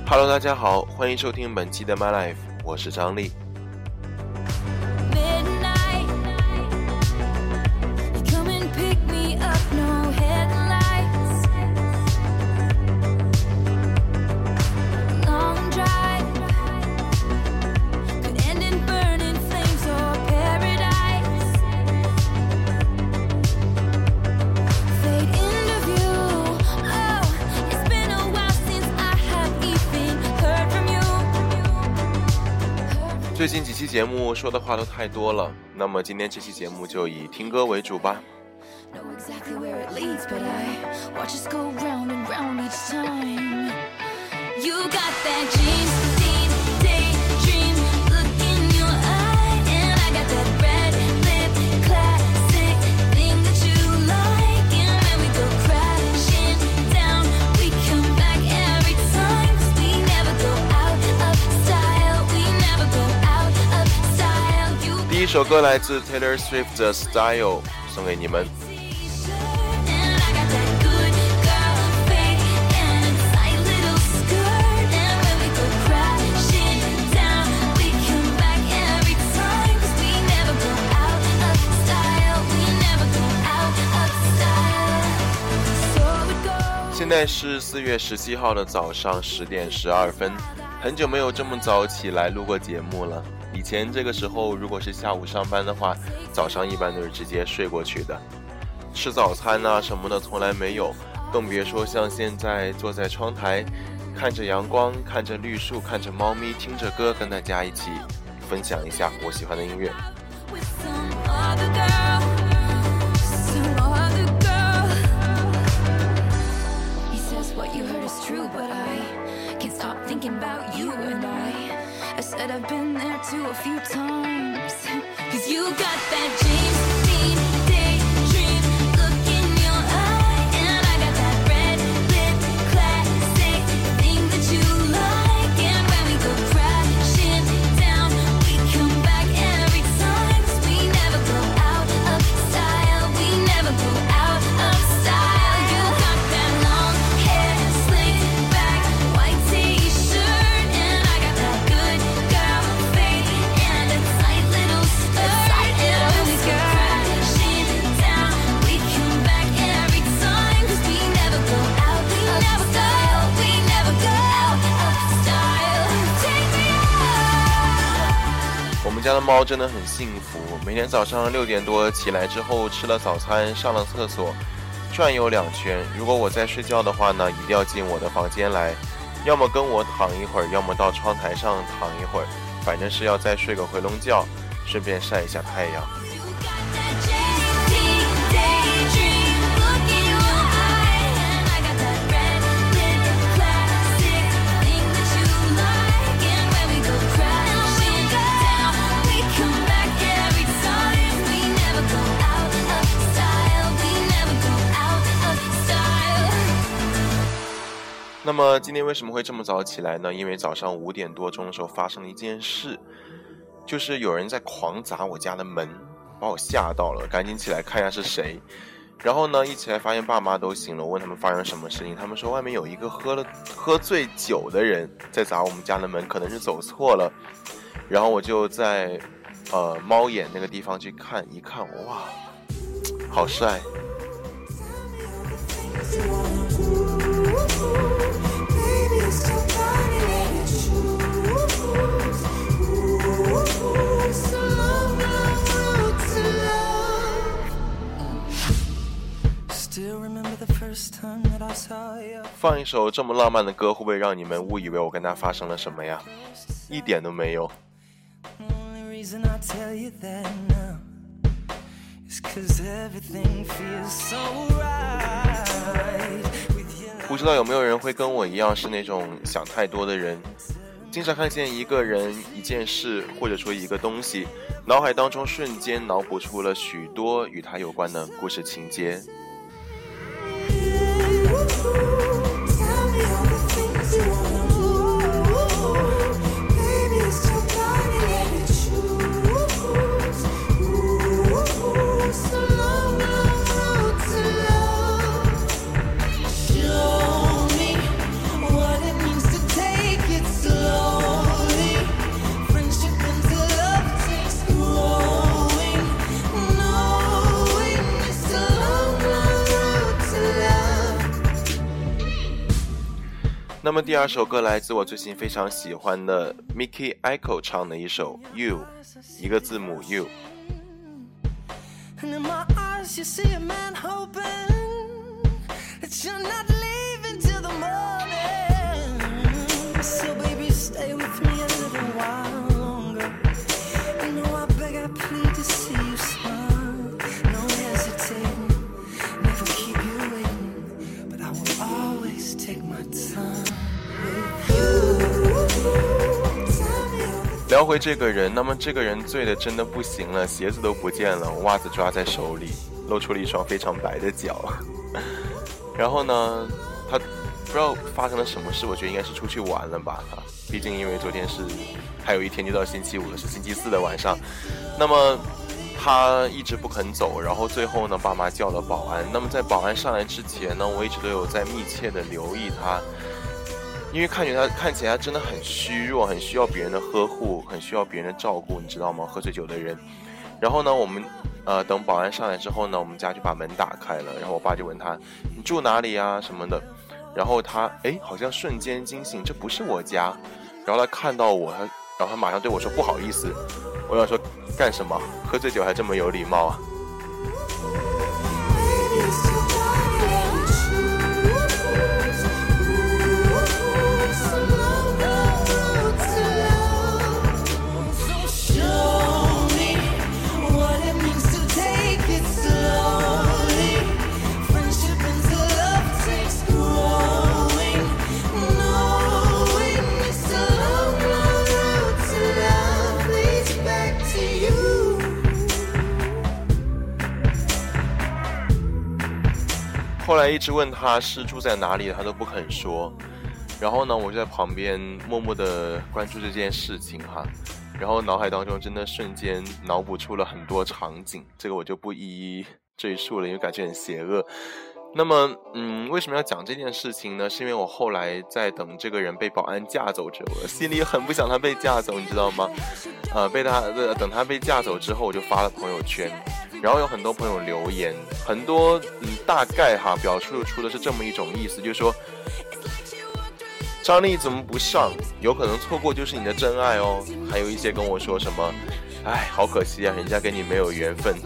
Hello， 大家好，欢迎收听本期的 My Life， 我是张力。最近几期节目说的话都太多了，那么今天这期节目就以听歌为主吧。第一首歌来自 Taylor Swift 的 Style， 送给你们。现在是4月17号的早上10点12分，很久没有这么早起来录过节目了。以前这个时候如果是下午上班的话，早上一般都是直接睡过去的，吃早餐啊什么的从来没有，更别说像现在坐在窗台看着阳光，看着绿树，看着猫咪，听着歌，跟大家一起分享一下我喜欢的音乐。 I said I've been there too a few times. Cause you got that James Dean daydream look in your eye. And I got that red lip classic thing that you like. And when we go crashing down, we come back every time. Cause we never go out of style. We never go out of style. You got that long hair slicked back, white t-shirt. And I got that good 我们家的猫真的很幸福，每天早上6点多起来之后，吃了早餐，上了厕所，转悠2圈。如果我在睡觉的话呢，一定要进我的房间来，要么跟我躺一会儿，要么到窗台上躺一会儿，反正是要再睡个回笼觉，顺便晒一下太阳。那么今天为什么会这么早起来呢？因为早上5点多钟的时候发生了一件事，就是有人在狂砸我家的门，把我吓到了，赶紧起来看一下是谁。然后呢，一起来发现爸妈都醒了，我问他们发生什么事情，他们说外面有一个喝醉酒的人在砸我们家的门，可能是走错了。然后我就在猫眼那个地方去看一看，哇，好帅！放一首这么浪漫的歌，会不会让你们误以为我跟他发生了什么呀？一点都没有。不知道有没有人会跟我一样是那种想太多的人，经常看见一个人、一件事，或者说一个东西，脑海当中瞬间脑补出了许多与他有关的故事情节。 那么第二首歌来自我最近非常喜欢的 Mickey Echo 唱的一首 You， 一个字母 You。 And in my eyes you see a man hoping that you're not leaving till the morning. So baby stay with me a little while longer. You know I beg I plead to see you smile. No hesitating, never keep you waiting, but I will always take my time with you. 聊回这个人，那么这个人醉的真的不行了，鞋子都不见了，袜子抓在手里，露出了一双非常白的脚。然后呢，他不知道发生了什么事，我觉得应该是出去玩了吧。毕竟因为昨天是还有一天就到星期五了，是星期四的晚上。那么他一直不肯走，然后最后呢，爸妈叫了保安。那么在保安上来之前呢，我一直都有在密切的留意他。因为看起来他真的很虚弱，很需要别人的呵护，很需要别人的照顾，你知道吗？喝醉酒的人。然后呢，我们等保安上来之后呢，我们家就把门打开了，然后我爸就问他你住哪里啊什么的，然后他好像瞬间惊醒，这不是我家。然后他看到我，然后他马上对我说不好意思。我想说干什么？喝醉酒还这么有礼貌啊？后来一直问他是住在哪里，他都不肯说。然后呢，我就在旁边默默地关注这件事情哈。然后脑海当中真的瞬间脑补出了很多场景，这个我就不一一赘述了，因为感觉很邪恶。那么为什么要讲这件事情呢？是因为我后来在等这个人被保安架走之后，我心里很不想他被架走，你知道吗？等他被架走之后，我就发了朋友圈。然后有很多朋友留言，很多大概表述出的是这么一种意思，就是说张力怎么不上，有可能错过就是你的真爱哦。还有一些跟我说什么好可惜啊，人家跟你没有缘分。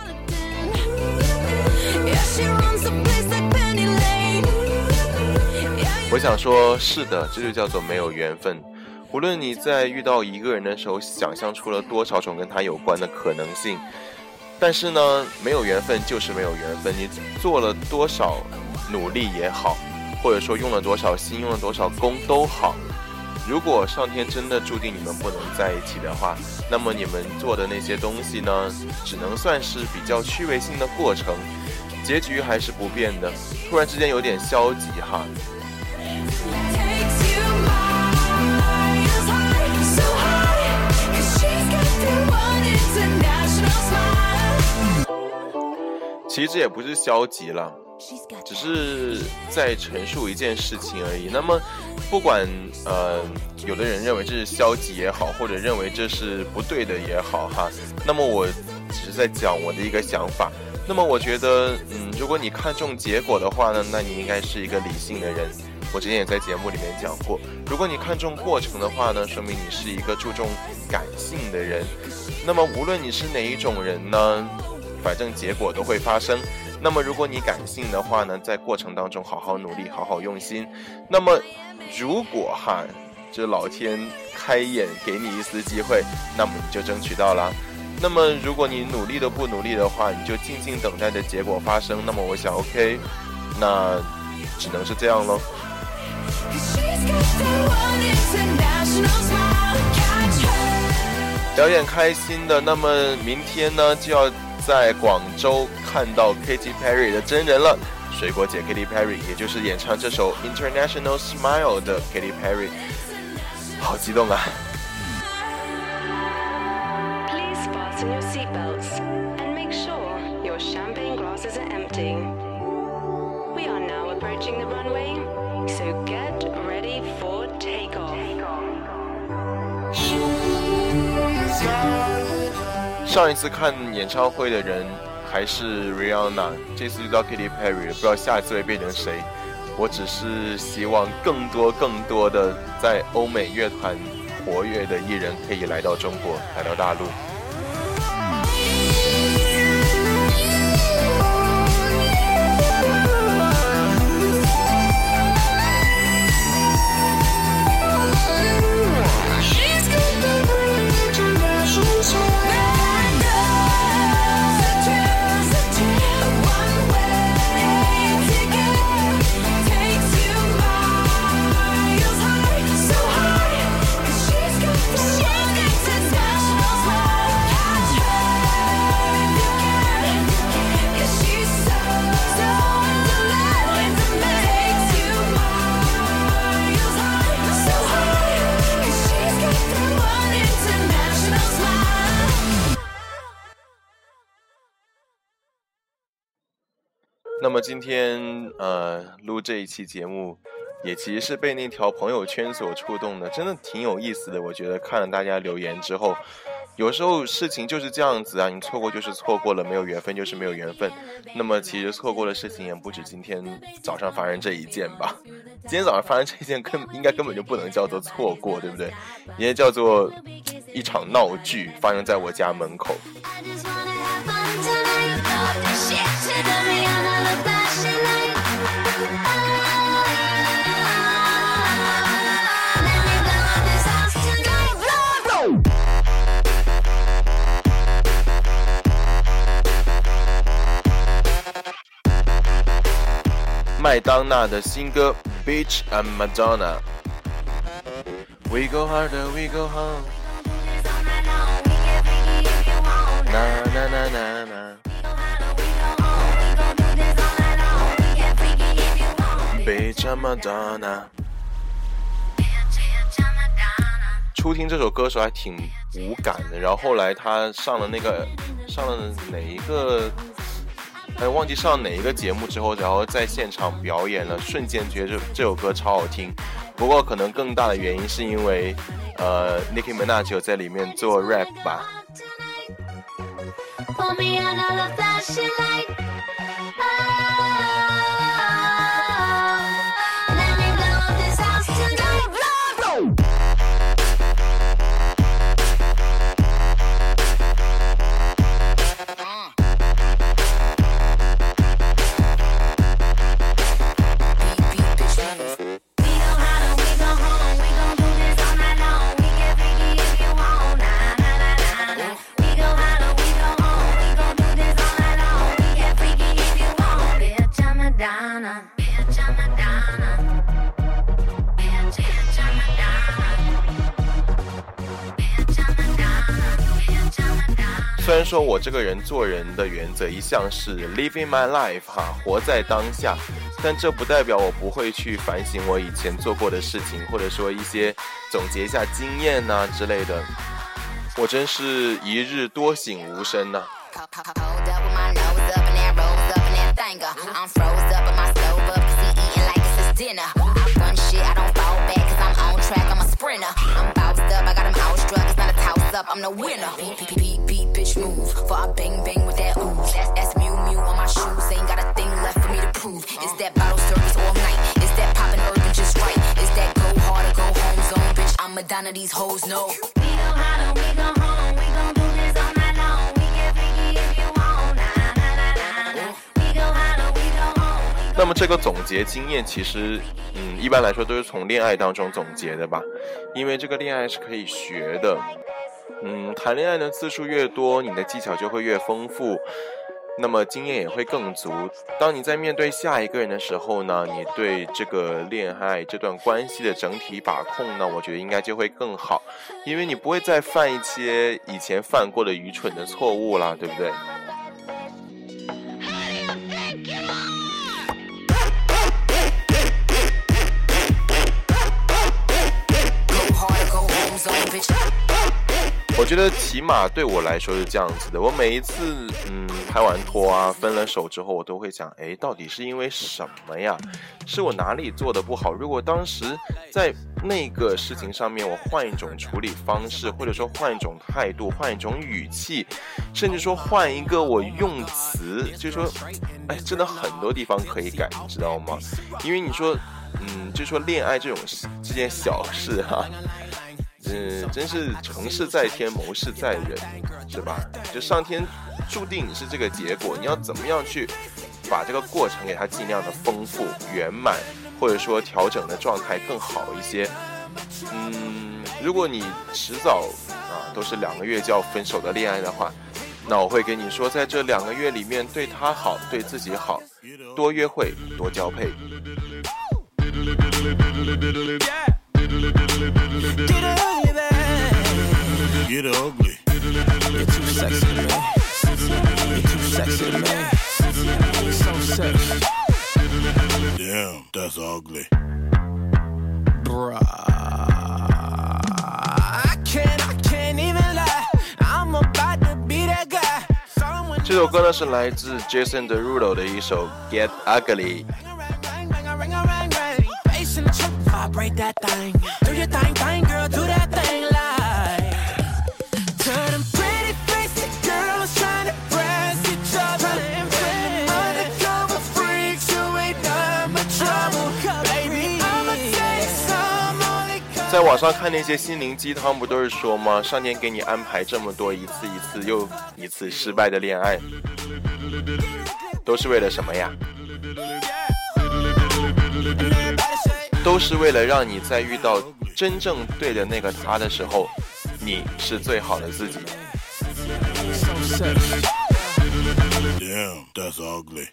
我想说是的，这就叫做没有缘分。无论你在遇到一个人的时候想象出了多少种跟他有关的可能性，但是呢，没有缘分就是没有缘分。你做了多少努力也好，或者说用了多少心，用了多少功都好，如果上天真的注定你们不能在一起的话，那么你们做的那些东西呢，只能算是比较趣味性的过程，结局还是不变的。突然之间有点消极哈。其实这也不是消极了，只是在陈述一件事情而已。那么不管有的人认为这是消极也好，或者认为这是不对的也好哈，那么我只是在讲我的一个想法。那么我觉得如果你看重结果的话呢，那你应该是一个理性的人。我之前也在节目里面讲过，如果你看重过程的话呢，说明你是一个注重感性的人。那么无论你是哪一种人呢，反正结果都会发生。那么如果你感性的话呢，在过程当中好好努力，好好用心。那么如果这老天开眼给你一丝机会，那么你就争取到了。那么如果你努力都不努力的话，你就静静等待着结果发生。那么我想 OK， 那只能是这样咯。表演开心的，那么明天呢就要在广州看到 Katy Perry 的真人了。水果姐 Katy Perry， 也就是演唱这首 International Smile 的 Katy Perry， 好激动啊。 Please fasten your seatbelts and make sure your champagne glasses are empty. We are now approaching the runway, so get ready for takeoff. 上一次看演唱会的人还是 Rihanna， 这次遇到 Katy Perry， 不知道下一次会变成谁。 我只是希望更多的在欧美乐团活跃的艺人可以来到中国，来到大陆。那么今天录这一期节目也其实是被那条朋友圈所触动的，真的挺有意思的。我觉得看了大家留言之后，有时候事情就是这样子啊，你错过就是错过了，没有缘分就是没有缘分。那么其实错过的事情也不止今天早上发生这一件吧，今天早上发生这一件应该根本就不能叫做错过，对不对？应该叫做一场闹剧发生在我家门口。麦当娜的新歌 Beach and Madonna We go harder, we go home Na na na na na Beach and Madonna 初听这首歌时候还挺无感的，然后后来他上了哪一个忘记上哪一个节目之后，然后在现场表演了，瞬间觉得这首歌超好听。不过可能更大的原因是因为Nicki Minaj 有在里面做 rap 吧。虽然说我这个人做人的原则一向是 living my life 活在当下，但这不代表我不会去反省我以前做过的事情，或者说一些总结一下经验之类的。我真是一日多醒无声呐。I'm the winner. Beat, bitch, move. For I bang bang with that ooze. That's Mew Mew on my shoes. Ain't got a thing left for me to prove. It's that bottle service all night. It's that poppin' urban just right. It's that go hard or go home zone, bitch. I'm Madonna, these hoes know. We go hard or we go home. We gon' do this all night long. We get freaky if you want. Nah, nah, nah, nah. We go hard or we go home. 那么这个总结经验其实一般来说都是从恋爱当中总结的吧，因为这个恋爱是可以学的。谈恋爱的次数越多，你的技巧就会越丰富，那么经验也会更足。当你在面对下一个人的时候呢，你对这个恋爱这段关系的整体把控呢，我觉得应该就会更好，因为你不会再犯一些以前犯过的愚蠢的错误啦，对不对？ 我觉得起码对我来说是这样子的，我每一次拍完拖啊分了手之后，我都会想，到底是因为什么呀？是我哪里做的不好？如果当时在那个事情上面我换一种处理方式，或者说换一种态度，换一种语气，甚至说换一个我用词，就是说真的很多地方可以改，你知道吗？因为你说就说恋爱这件小事啊，真是成事在天，谋事在人，是吧？就上天注定是这个结果，你要怎么样去把这个过程给它尽量的丰富圆满，或者说调整的状态更好一些。如果你迟早都是2个月就要分手的恋爱的话，那我会跟你说，在这2个月里面对他好，对自己好，多约会，多交配。 Get ugly. You're too sexy to me. You're too sexy to me. So sexy. Damn, that's ugly. Bruh. I can't even lie. I'm about to be that guy. 这首歌呢是来自 Jason Derulo 的一首 Get Ugly。 Vibrate that thing. Do your thing, girl. Do that thing like. To them pretty faced girls trying to press each other. Undercover freaks who ain't done but trouble. Baby, I'ma take some only cause. 在网上看那些心灵鸡汤，不都是说吗？上天给你安排这么多一次又一次失败的恋爱，都是为了什么呀？都是为了让你在遇到真正对的那个他的时候，你是最好的自己。 Damn, that's ugly.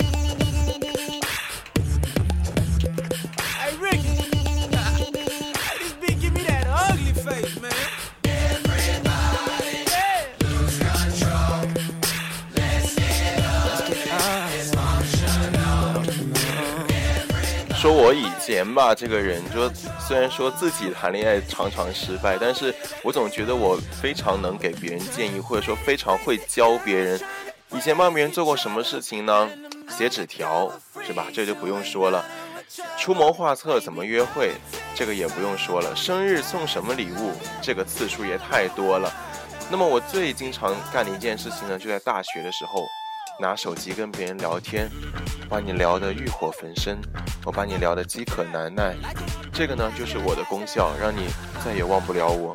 Hey Ricky, this bitch give me that ugly face, man. Everybody, lose control. Let's get up. Dysfunctional. 说我以前吧，这个人说，虽然说自己谈恋爱常常失败，但是我总觉得我非常能给别人建议，或者说非常会教别人。以前帮别人做过什么事情呢？写纸条，是吧？这就不用说了。出谋划策怎么约会，这个也不用说了。生日送什么礼物，这个次数也太多了。那么我最经常干的一件事情呢，就在大学的时候，拿手机跟别人聊天，把你聊得欲火焚身，我把你聊得饥渴难耐，这个呢就是我的功效，让你再也忘不了我。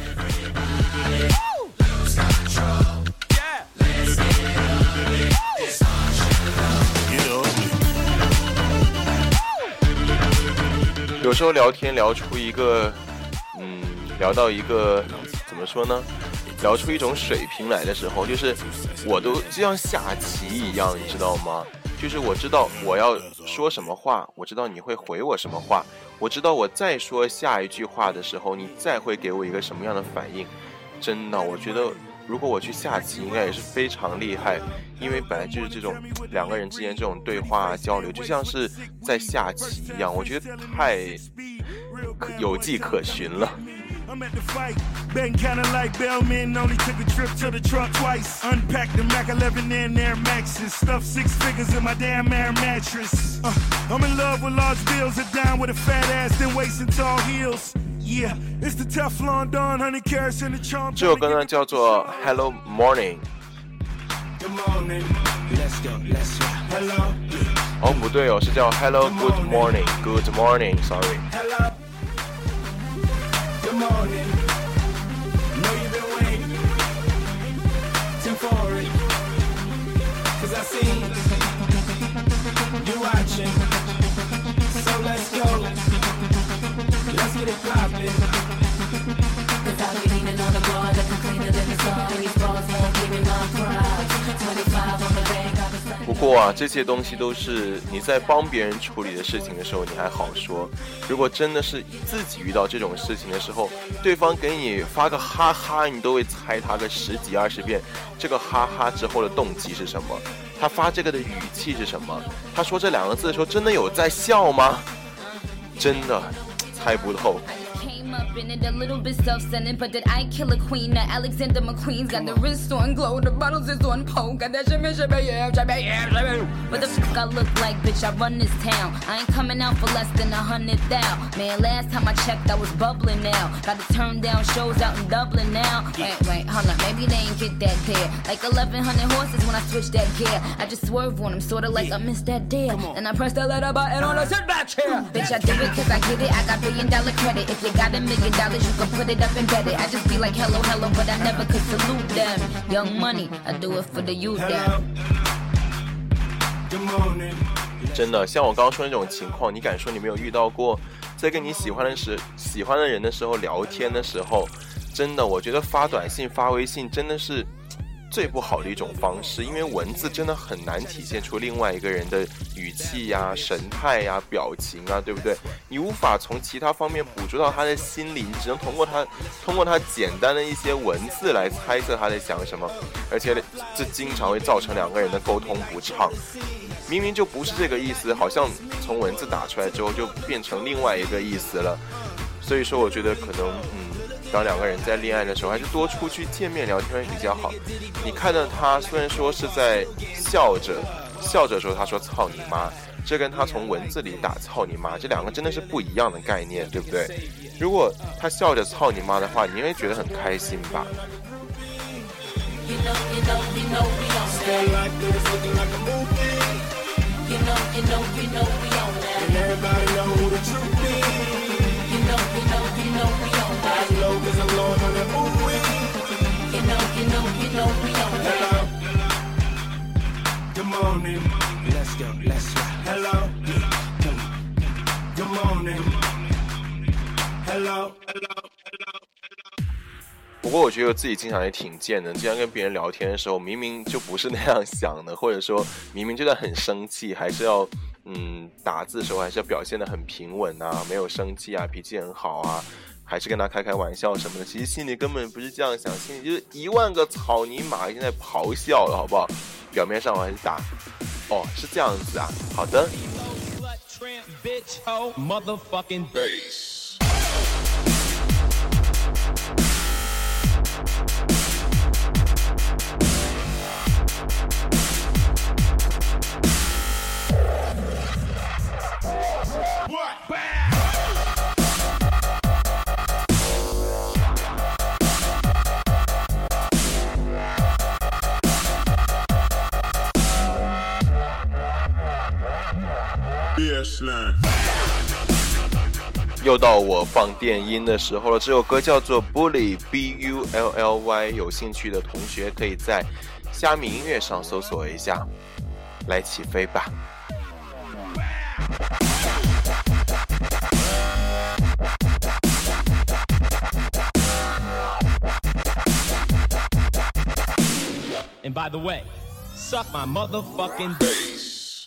有时候聊天聊出一个聊到一个怎么说呢，聊出一种水平来的时候，就是我都就像下棋一样，你知道吗？就是我知道我要说什么话，我知道你会回我什么话，我知道我再说下一句话的时候，你再会给我一个什么样的反应。真的，我觉得如果我去下棋应该也是非常厉害，因为本来就是这种2个人之间这种对话交流就像是在下棋一样，我觉得太有迹可循了。 I'm at the fight, betting kinda like Bellman, only took a trip to the truck twice. Unpacked the Mac 11 and Air Maxes, stuffed 6 figures in my damn air mattress. I'm in love with large bills, a dime with a fat ass, then waist and tall heels. Yeah, it's the Teflon Don, 100 carats in the charm. 这首歌呢叫做 Hello Morning。 Good morning, let's go, let's go. Hello. 哦，不对哦，是叫 Hello Good Morning Good Morning Sorry。 Hello. Good morning. Know you've been waiting. Tim for it. 'Cause I see you watching. So let's go. Let's get it poppin'. Without you leaning on the bar, looking cleaner than the sun. These balls won't give me my pride. 25 on the bank, I've been stuck. 不过啊，这些东西都是你在帮别人处理的事情的时候你还好说，如果真的是自己遇到这种事情的时候，对方给你发个哈哈，你都会猜他个10几20遍，这个哈哈之后的动机是什么，他发这个的语气是什么，他说这2个字的时候真的有在笑吗？真的猜不透。 up in it, a little bit self-centered, but did I kill a queen? Now Alexander McQueen's got the wrist on glow, the bottles is on pole, got that shimmy, yeah. What the fuck I look like, bitch? I run this town. I ain't coming out for less than 100,000. Man, last time I checked, I was bubbling now. Gotta turn down shows out in Dublin now. Wait, hold up, maybe they ain't get that there. Like 1,100 horses when I switch that gear. I just swerve on them, sorta like I missed that deal. And I press the letter button on the sit back chair. Bitch, I do it cause I get it. I got $1 billion credit. If you got $1 million, you can put it up and bet it. I just be like hello, hello, but I never could salute them. Young money, I do it for the youth them. 真的，像我刚刚说的那种情况，你敢说你没有遇到过？在跟你喜欢的人的时候聊天的时候，真的，我觉得发短信、发微信真的是最不好的一种方式，因为文字真的很难体现出另外一个人的语气呀、神态呀、表情啊，对不对？你无法从其他方面捕捉到他的心理，你只能通过他简单的一些文字来猜测他在想什么，而且这经常会造成两个人的沟通不畅。明明就不是这个意思，好像从文字打出来之后就变成另外一个意思了。所以说，我觉得可能当两个人在恋爱的时候，还是多出去见面聊天会比较好。你看到他虽然说是在笑着说他说操你妈，这跟他从文字里打操你妈，这两个真的是不一样的概念，对不对？如果他笑着操你妈的话，你会觉得很开心吧。 Good morning. Let's go. Hello. Good morning. Hello. 不过我觉得我自己经常也挺贱的，经常跟别人聊天的时候，明明就不是那样想的，或者说明明就在很生气，还是要打字的时候还是要表现得很平稳啊，没有生气啊，脾气很好啊，还是跟他开玩笑什么的，其实心里根本不是这样想，心里就是10000个草泥马已经在咆哮了，好不好？表面上我还是打是这样子啊，好的。又到我放电音的时候了，这首歌叫做 Bully B-U-L-L-Y， 有兴趣的同学可以在虾米音乐上搜索一下，来起飞吧。 And by the way, suck my motherfucking bass.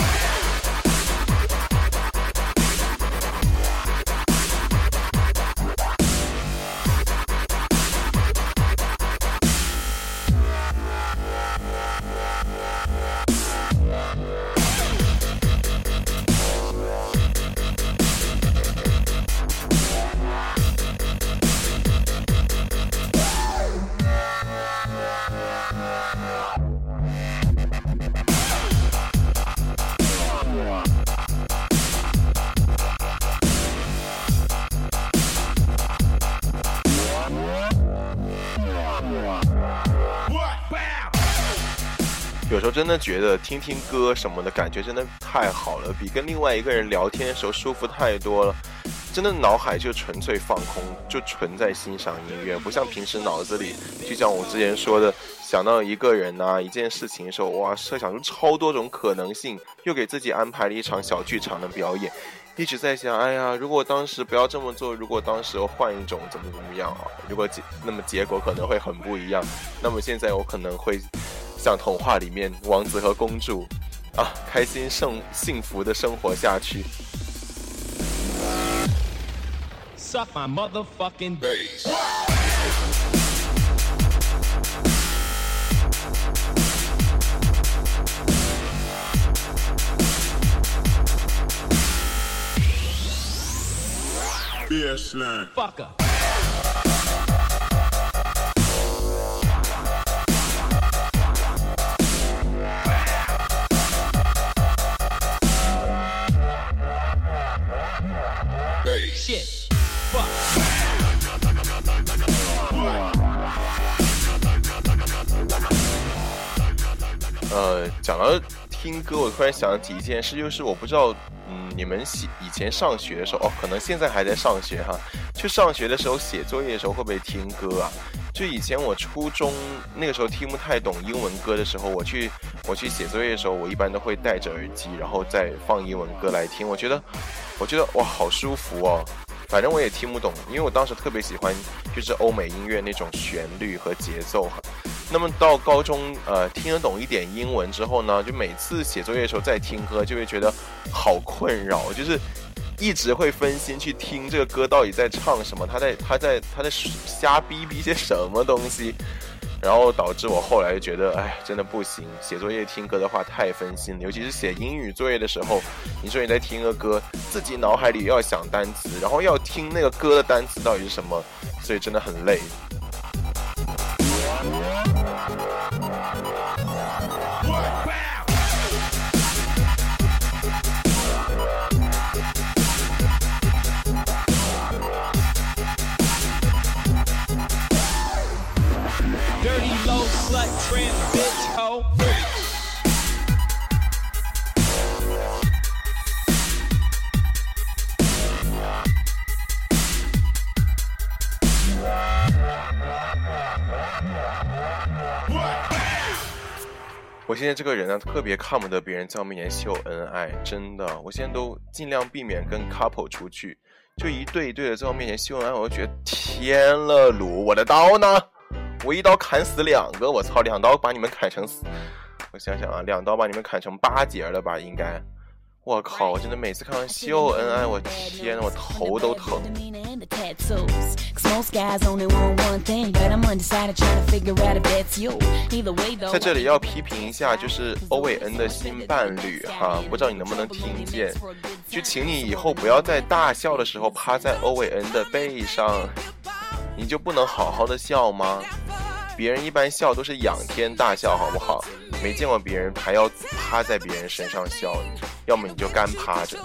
有时候真的觉得听听歌什么的感觉真的太好了，比跟另外一个人聊天的时候舒服太多了。真的脑海就纯粹放空，就纯在欣赏音乐，不像平时脑子里就像我之前说的，想到一个人啊一件事情的时候，哇，设想出超多种可能性，又给自己安排了一场小剧场的表演，一直在想，哎呀，如果当时不要这么做，如果当时我换一种怎么样啊，如果那么结果可能会很不一样，那么现在我可能会像童话里面王子和公主啊，开心幸福的生活下去。 Suck my motherfucking bass. BS line. Fucker. 讲到听歌，我突然想起一件事，就是我不知道，你们以前上学的时候，可能现在还在上学哈，去上学的时候写作业的时候会不会听歌啊？就以前我初中那个时候听不太懂英文歌的时候，我去写作业的时候，我一般都会戴着耳机，然后再放英文歌来听。我觉得哇，好舒服哦。反正我也听不懂，因为我当时特别喜欢就是欧美音乐那种旋律和节奏哈。那么到高中听得懂一点英文之后呢，就每次写作业的时候再听歌，就会觉得好困扰，就是一直会分心去听这个歌到底在唱什么，他在瞎逼些什么东西，然后导致我后来觉得真的不行，写作业听歌的话太分心了，尤其是写英语作业的时候，你说你在听个歌，自己脑海里要想单词，然后要听那个歌的单词到底是什么，所以真的很累。 Dirty low slut tramp bitch hoe. 我现在这个人呢，特别看不得别人在我面前秀恩爱，真的，我现在都尽量避免跟 couple 出去，就一对一对的在我面前秀恩爱，我就觉得天了鲁，我的刀呢？我一刀砍死2个，我操，2刀把你们砍成死，我想想啊，2刀把你们砍成8节了吧，应该。我靠，我真的每次看完秀恩爱，我天，我头都疼。在这里要批评一下，就是欧伟恩的新伴侣哈，不知道你能不能听见？就请你以后不要在大笑的时候趴在欧伟恩的背上，你就不能好好的笑吗？别人一般笑都是仰天大笑，好不好？没见过别人还要趴在别人身上笑，要么你就干趴着。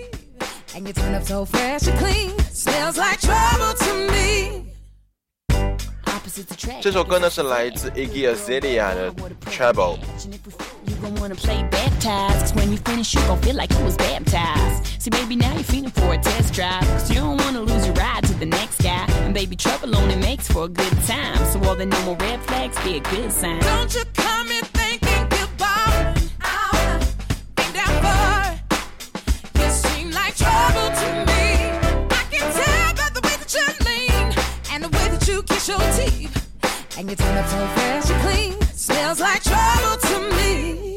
这首歌呢是来自 Iggy Azalea 的 Trouble。 Wanna play baptized, cause when you finish you gon' feel like you was baptized. See baby now you're feeling for a test drive, cause you don't wanna lose your ride to the next guy. And baby trouble only makes for a good time, so all the normal red flags be a good sign. Don't you come in thinking goodbye, ain't that far. You seem like trouble to me. I can tell by the way that you lean and the way that you kiss your teeth. And you turn up so fresh and clean, smells like trouble to me.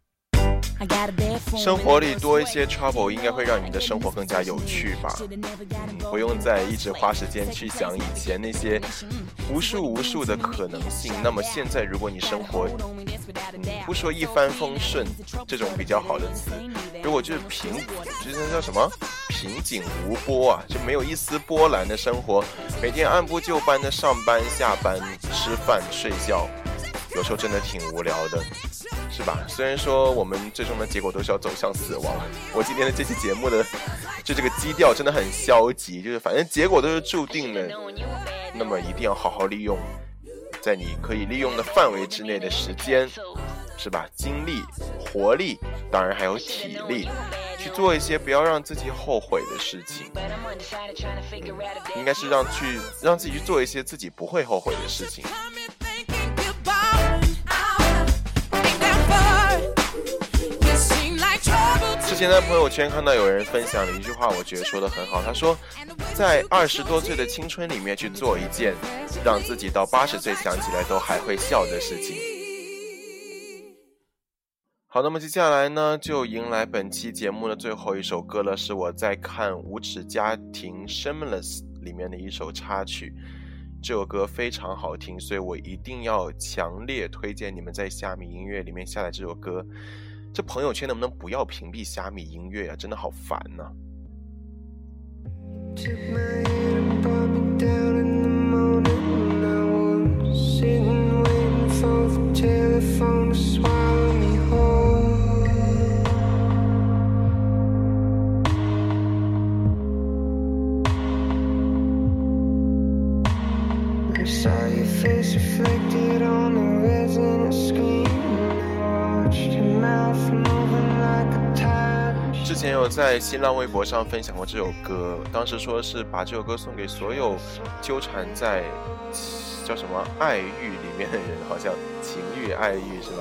生活里多一些 trouble 应该会让你的生活更加有趣吧，不用再一直花时间去想以前那些无数的可能性。那么现在如果你生活不说一帆风顺这种比较好的词，如果就是就是叫什么平静无波啊，就没有一丝波澜的生活，每天按部就班的上班下班吃饭睡觉，有时候真的挺无聊的，是吧？虽然说我们最终的结果都是要走向死亡，我今天的这期节目的就这个基调真的很消极，就是反正结果都是注定的，那么一定要好好利用在你可以利用的范围之内的时间，是吧？精力、活力，当然还有体力，去做一些不要让自己后悔的事情。应该是让自己去做一些自己不会后悔的事情。之前在朋友圈看到有人分享了一句话，我觉得说得很好，他说在20多岁的青春里面去做一件让自己到80岁想起来都还会笑的事情。好，那么接下来呢就迎来本期节目的最后一首歌了，是我在看《无耻家庭 Shameless》里面的一首插曲。这首歌非常好听，所以我一定要强烈推荐你们在虾米音乐里面下载这首歌。这朋友圈能不能不要屏蔽虾米音乐啊，真的好烦啊。 Saw your face reflected on the retina screen. Now 之前有在新浪微博上分享过这首歌，当时说是把这首歌送给所有纠缠在叫什么爱欲里面的人，好像情欲爱欲是吧？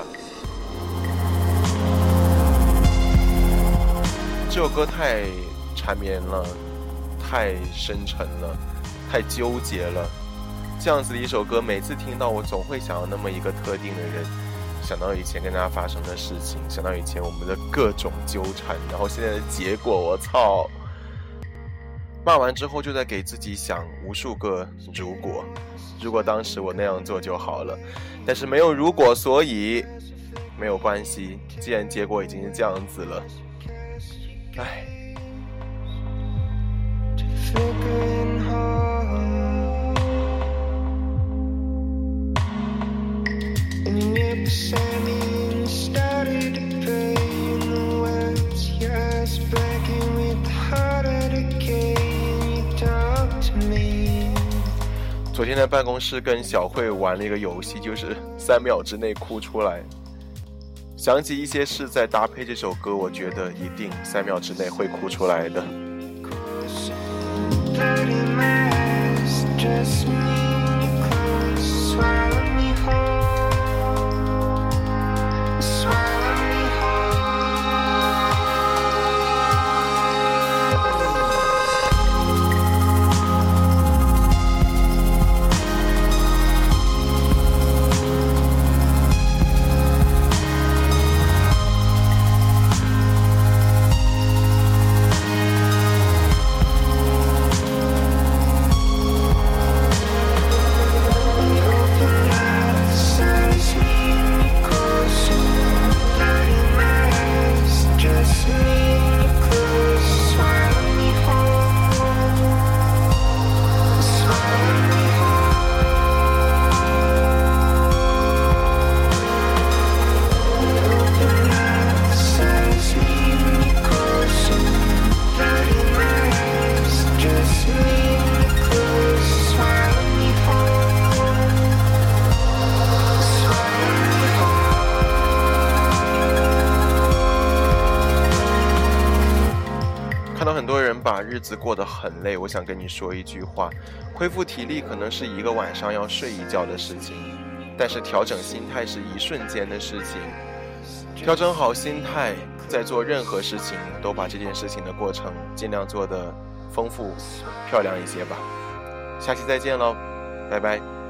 这首歌太缠绵了，太深沉了，太纠结了。这样子的一首歌，每次听到我总会想到那么一个特定的人，想到以前跟他发生的事情，想到以前我们的各种纠缠，然后现在的结果，我操！骂完之后就在给自己想无数个如果当时我那样做就好了，但是没有如果，所以没有关系，既然结果已经是这样子了，唉。昨天在办公室跟小慧玩了一个游戏，就是3秒之内哭出来。想起一些事再搭配这首歌，我觉得一定3秒之内会哭出来的。看到很多人把日子过得很累，我想跟你说一句话，恢复体力可能是一个晚上要睡一觉的事情，但是调整心态是一瞬间的事情。调整好心态，在做任何事情都把这件事情的过程尽量做得丰富漂亮一些吧。下期再见喽，拜拜。